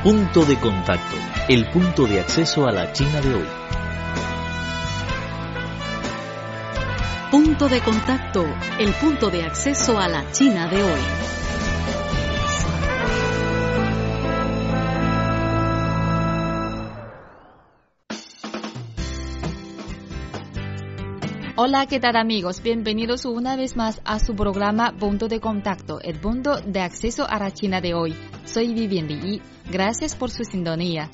Punto de contacto, el punto de acceso a la China de hoy. Punto de contacto, el punto de acceso a la China de hoy. Hola, ¿qué tal amigos? Bienvenidos una vez más a su programa Punto de Contacto, el punto de acceso a la China de hoy. Soy Vivian Li. Gracias por su sintonía.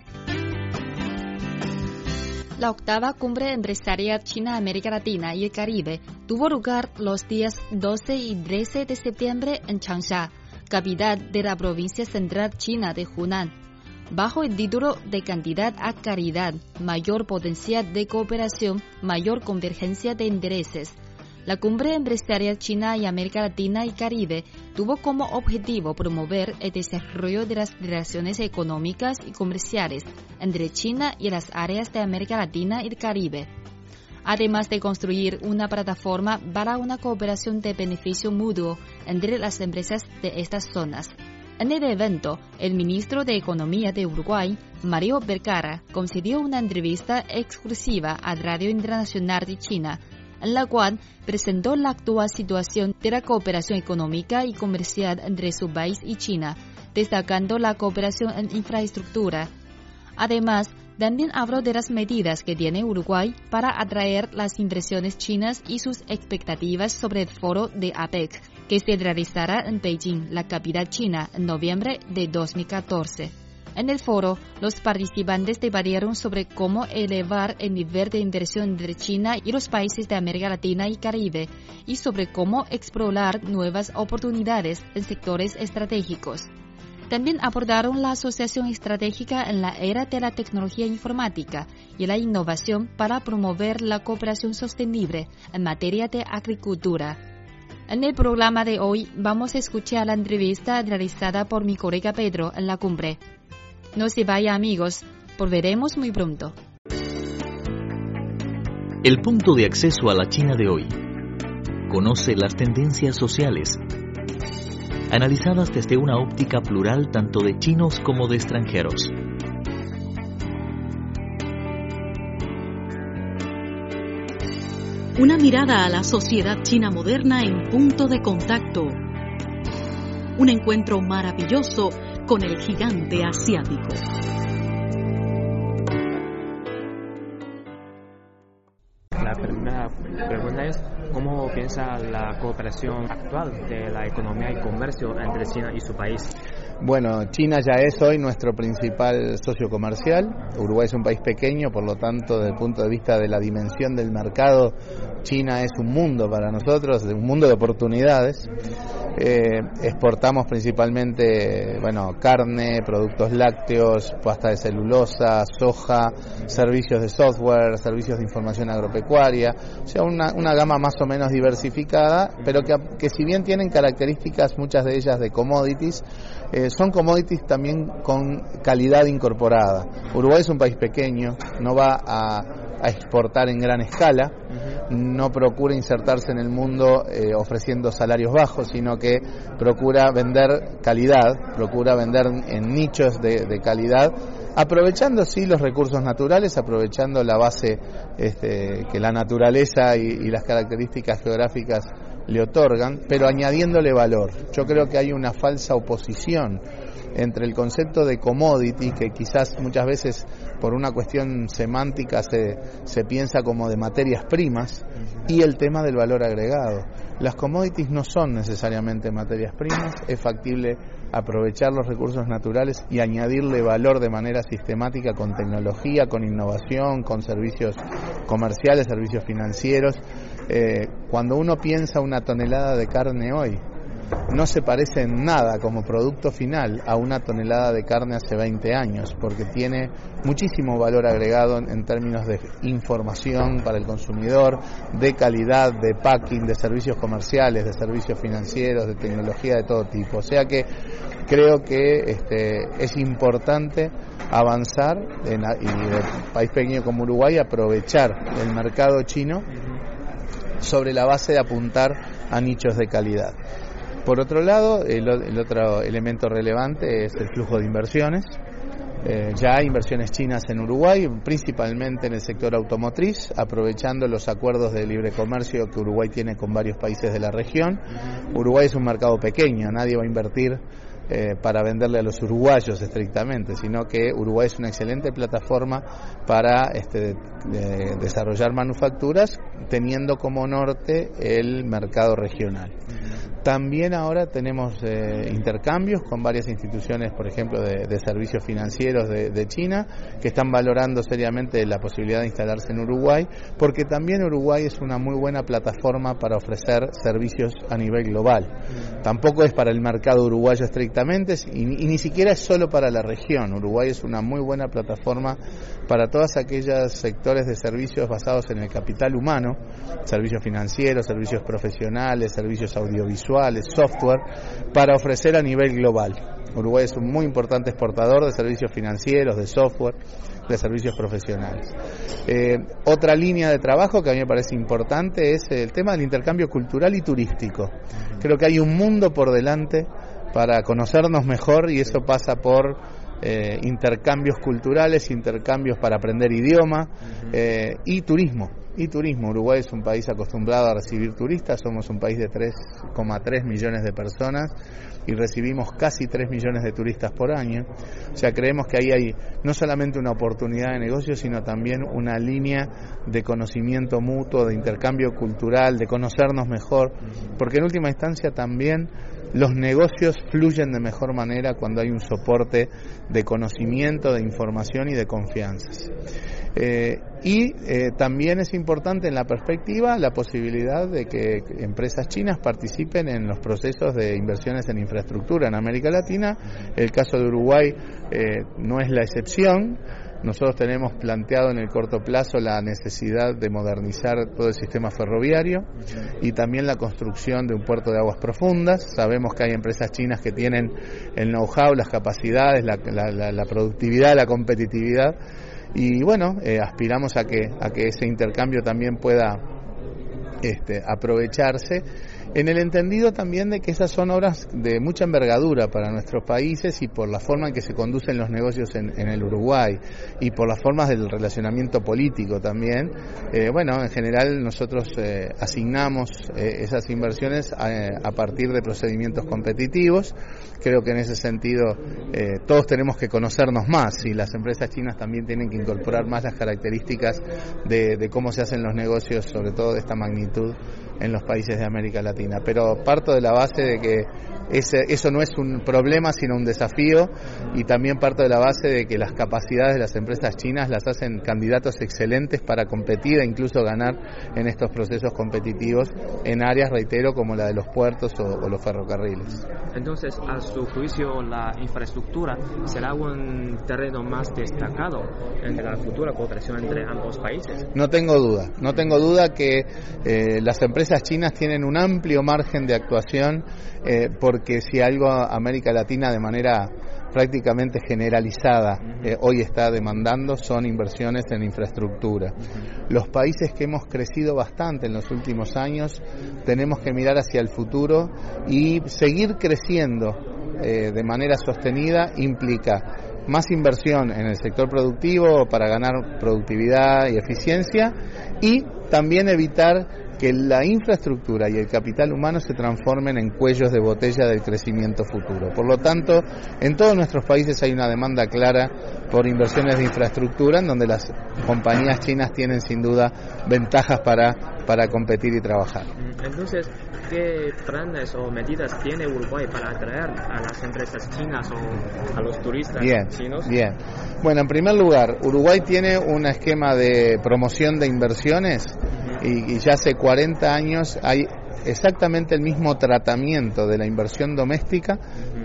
La octava cumbre empresarial China-América Latina y el Caribe tuvo lugar los días 12 y 13 de septiembre en Changsha, capital de la provincia central china de Hunan, bajo el título de Cantidad a Calidad, mayor potencial de cooperación, mayor convergencia de intereses. La cumbre empresarial China y América Latina y Caribe tuvo como objetivo promover el desarrollo de las relaciones económicas y comerciales entre China y las áreas de América Latina y el Caribe, además de construir una plataforma para una cooperación de beneficio mutuo entre las empresas de estas zonas. En el evento, el ministro de Economía de Uruguay, Mario Vergara, concedió una entrevista exclusiva a Radio Internacional de China, en la cual presentó la actual situación de la cooperación económica y comercial entre su país y China, destacando la cooperación en infraestructura. Además, también habló de las medidas que tiene Uruguay para atraer las inversiones chinas y sus expectativas sobre el foro de APEC, que se realizará en Beijing, la capital china, en noviembre de 2014. En el foro, los participantes debatieron sobre cómo elevar el nivel de inversión entre China y los países de América Latina y Caribe, y sobre cómo explorar nuevas oportunidades en sectores estratégicos. También abordaron la asociación estratégica en la era de la tecnología informática y la innovación para promover la cooperación sostenible en materia de agricultura. En el programa de hoy vamos a escuchar la entrevista realizada por mi colega Pedro en la cumbre. No se vaya amigos, volveremos muy pronto. El punto de acceso a la China de hoy. Conoce las tendencias sociales, analizadas desde una óptica plural tanto de chinos como de extranjeros. Una mirada a la sociedad china moderna en Punto de Contacto. Un encuentro maravilloso con el gigante asiático. La primera pregunta es, ¿cómo piensa la cooperación actual de la economía y comercio entre China y su país? Bueno, China ya es hoy nuestro principal socio comercial. Uruguay es un país pequeño, por lo tanto, desde el punto de vista de la dimensión del mercado, China es un mundo para nosotros, un mundo de oportunidades. Exportamos principalmente, carne, productos lácteos, pasta de celulosa, soja, servicios de software, servicios de información agropecuaria, o sea, una gama más o menos diversificada, pero que si bien tienen características, muchas de ellas de commodities, son commodities también con calidad incorporada. Uruguay es un país pequeño, no va a exportar en gran escala, no procura insertarse en el mundo ofreciendo salarios bajos, sino que procura vender calidad, procura vender en nichos de calidad, aprovechando sí los recursos naturales, aprovechando la base que la naturaleza y las características geográficas le otorgan, pero añadiéndole valor. Yo creo que hay una falsa oposición entre el concepto de commodity, que quizás muchas veces por una cuestión semántica se piensa como de materias primas, y el tema del valor agregado. Las commodities no son necesariamente materias primas, es factible aprovechar los recursos naturales y añadirle valor de manera sistemática con tecnología, con innovación, con servicios comerciales, servicios financieros. Cuando uno piensa una tonelada de carne hoy, no se parece en nada como producto final a una tonelada de carne hace 20 años, porque tiene muchísimo valor agregado en términos de información para el consumidor, de calidad, de packing, de servicios comerciales, de servicios financieros, de tecnología de todo tipo. O sea que creo que es importante avanzar y de país pequeño como Uruguay aprovechar el mercado chino sobre la base de apuntar a nichos de calidad. Por otro lado, el otro elemento relevante es el flujo de inversiones. Ya hay inversiones chinas en Uruguay, principalmente en el sector automotriz, aprovechando los acuerdos de libre comercio que Uruguay tiene con varios países de la región. Uruguay es un mercado pequeño, nadie va a invertir para venderle a los uruguayos estrictamente, sino que Uruguay es una excelente plataforma para desarrollar manufacturas teniendo como norte el mercado regional. También ahora tenemos intercambios con varias instituciones, por ejemplo, de servicios financieros de China, que están valorando seriamente la posibilidad de instalarse en Uruguay, porque también Uruguay es una muy buena plataforma para ofrecer servicios a nivel global. Tampoco es para el mercado uruguayo estrictamente, y ni siquiera es solo para la región. Uruguay es una muy buena plataforma para todos aquellos sectores de servicios basados en el capital humano, servicios financieros, servicios profesionales, servicios audiovisuales, software, para ofrecer a nivel global. Uruguay es un muy importante exportador de servicios financieros, de software, de servicios profesionales. Otra línea de trabajo que a mí me parece importante es el tema del intercambio cultural y turístico. Creo que hay un mundo por delante para conocernos mejor, y eso pasa por intercambios culturales, intercambios para aprender idioma y turismo. Uruguay es un país acostumbrado a recibir turistas, somos un país de 3,3 millones de personas y recibimos casi 3 millones de turistas por año. O sea, creemos que ahí hay no solamente una oportunidad de negocio, sino también una línea de conocimiento mutuo, de intercambio cultural, de conocernos mejor, porque en última instancia también los negocios fluyen de mejor manera cuando hay un soporte de conocimiento, de información y de confianzas. También es importante en la perspectiva la posibilidad de que empresas chinas participen en los procesos de inversiones en infraestructura en América Latina. El caso de Uruguay no es la excepción. Nosotros tenemos planteado en el corto plazo la necesidad de modernizar todo el sistema ferroviario y también la construcción de un puerto de aguas profundas. Sabemos que hay empresas chinas que tienen el know-how, las capacidades, la productividad, la competitividad, y bueno, aspiramos a que ese intercambio también pueda aprovecharse, en el entendido también de que esas son obras de mucha envergadura para nuestros países, y por la forma en que se conducen los negocios en el Uruguay y por las formas del relacionamiento político también. En general nosotros asignamos esas inversiones a partir de procedimientos competitivos. Creo que en ese sentido todos tenemos que conocernos más, y las empresas chinas también tienen que incorporar más las características de cómo se hacen los negocios, sobre todo de esta magnitud, en los países de América Latina. Pero parto de la base de que eso no es un problema, sino un desafío, y también parto de la base de que las capacidades de las empresas chinas las hacen candidatos excelentes para competir e incluso ganar en estos procesos competitivos en áreas, reitero, como la de los puertos o los ferrocarriles. Entonces, a su juicio, la infraestructura será un terreno más destacado en la futura cooperación entre ambos países. No tengo duda que las empresas chinas tienen un amplio margen de actuación, porque si algo América Latina de manera prácticamente generalizada hoy está demandando son inversiones en infraestructura. Los países que hemos crecido bastante en los últimos años tenemos que mirar hacia el futuro, y seguir creciendo de manera sostenida implica más inversión en el sector productivo para ganar productividad y eficiencia, y también evitar que la infraestructura y el capital humano se transformen en cuellos de botella del crecimiento futuro. Por lo tanto, en todos nuestros países hay una demanda clara por inversiones de infraestructura, en donde las compañías chinas tienen sin duda ventajas para competir y trabajar. Entonces, ¿qué planes o medidas tiene Uruguay para atraer a las empresas chinas o a los turistas chinos? Bien. Bueno, en primer lugar, Uruguay tiene un esquema de promoción de inversiones, y ya hace 40 años hay exactamente el mismo tratamiento de la inversión doméstica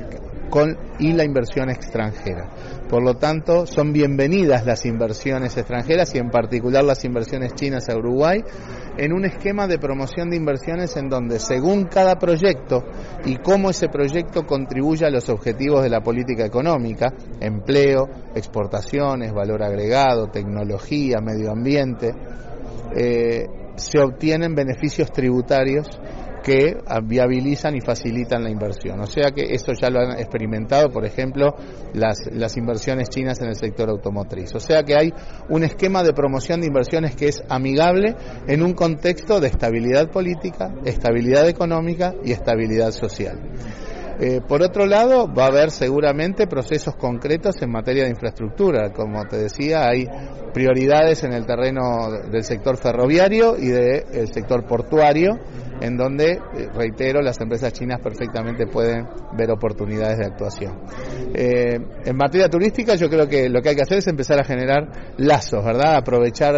y la inversión extranjera. Por lo tanto, son bienvenidas las inversiones extranjeras, y en particular las inversiones chinas a Uruguay, en un esquema de promoción de inversiones en donde, según cada proyecto y cómo ese proyecto contribuye a los objetivos de la política económica, empleo, exportaciones, valor agregado, tecnología, medio ambiente, se obtienen beneficios tributarios que viabilizan y facilitan la inversión. O sea que esto ya lo han experimentado, por ejemplo, las inversiones chinas en el sector automotriz. O sea que hay un esquema de promoción de inversiones que es amigable en un contexto de estabilidad política, estabilidad económica y estabilidad social. Por otro lado, va a haber seguramente procesos concretos en materia de infraestructura. Como te decía, hay prioridades en el terreno del sector ferroviario y del sector portuario, en donde, reitero, las empresas chinas perfectamente pueden ver oportunidades de actuación. En materia turística, yo creo que lo que hay que hacer es empezar a generar lazos, ¿verdad? Aprovechar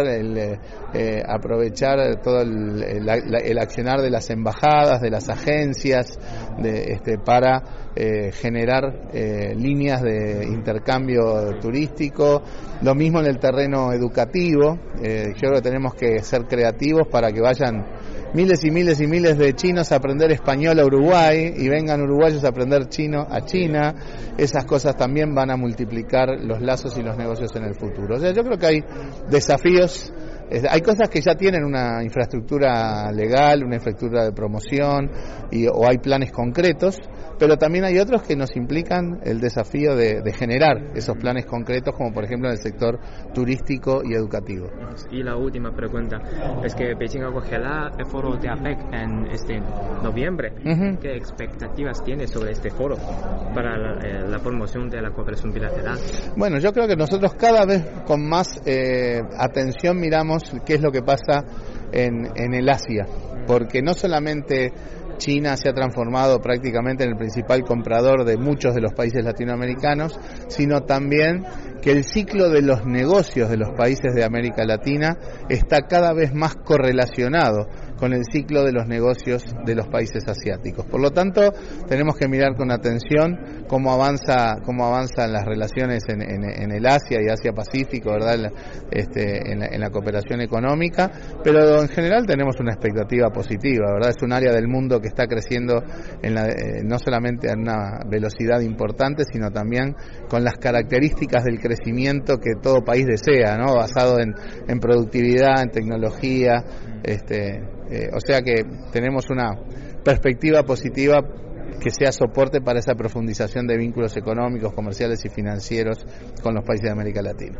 todo el accionar de las embajadas, de las agencias, para generar líneas de intercambio turístico. Lo mismo en el terreno educativo. Yo creo que tenemos que ser creativos para que vayan miles y miles y miles de chinos a aprender español a Uruguay y vengan uruguayos a aprender chino a China. Esas cosas también van a multiplicar los lazos y los negocios en el futuro. O sea, yo creo que hay desafíos. Hay cosas que ya tienen una infraestructura legal, una infraestructura de promoción o hay planes concretos, pero también hay otros que nos implican el desafío de generar esos planes concretos, como por ejemplo en el sector turístico y educativo. Y la última pregunta es que Beijing acogerá el foro de APEC en este noviembre. Uh-huh. ¿Qué expectativas tiene sobre este foro para la promoción de la cooperación bilateral? Bueno, yo creo que nosotros cada vez con más atención miramos qué es lo que pasa en el Asia, porque no solamente China se ha transformado prácticamente en el principal comprador de muchos de los países latinoamericanos, sino también que el ciclo de los negocios de los países de América Latina está cada vez más correlacionado con el ciclo de los negocios de los países asiáticos. Por lo tanto, tenemos que mirar con atención cómo avanzan las relaciones en el Asia y Asia-Pacífico, ¿verdad? En la cooperación económica, pero en general tenemos una expectativa positiva, ¿verdad? Es un área del mundo que está creciendo no solamente a una velocidad importante, sino también con las características del crecimiento que todo país desea, ¿no? Basado en productividad, en tecnología, o sea que tenemos una perspectiva positiva que sea soporte para esa profundización de vínculos económicos, comerciales y financieros con los países de América Latina.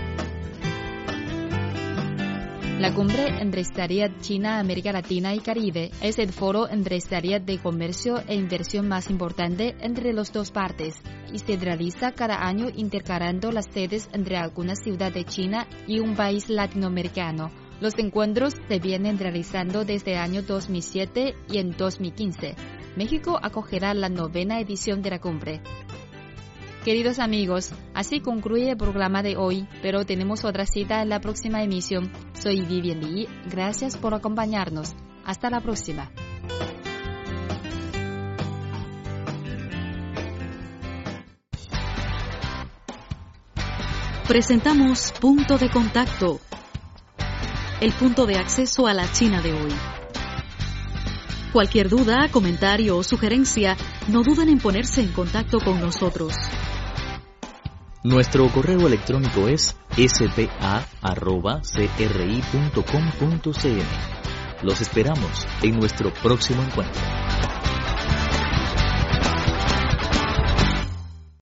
La cumbre empresarial China-América Latina y Caribe es el foro empresarial de comercio e inversión más importante entre las dos partes y se realiza cada año intercalando las sedes entre alguna ciudad de China y un país latinoamericano. Los encuentros se vienen realizando desde el año 2007 y en 2015. México acogerá la 9ª edición de la cumbre. Queridos amigos, así concluye el programa de hoy, pero tenemos otra cita en la próxima emisión. Soy Vivian Li, gracias por acompañarnos. Hasta la próxima. Presentamos Punto de Contacto, el punto de acceso a la China de hoy. Cualquier duda, comentario o sugerencia, no duden en ponerse en contacto con nosotros. Nuestro correo electrónico es spa@cri.com.cn. Los esperamos en nuestro próximo encuentro.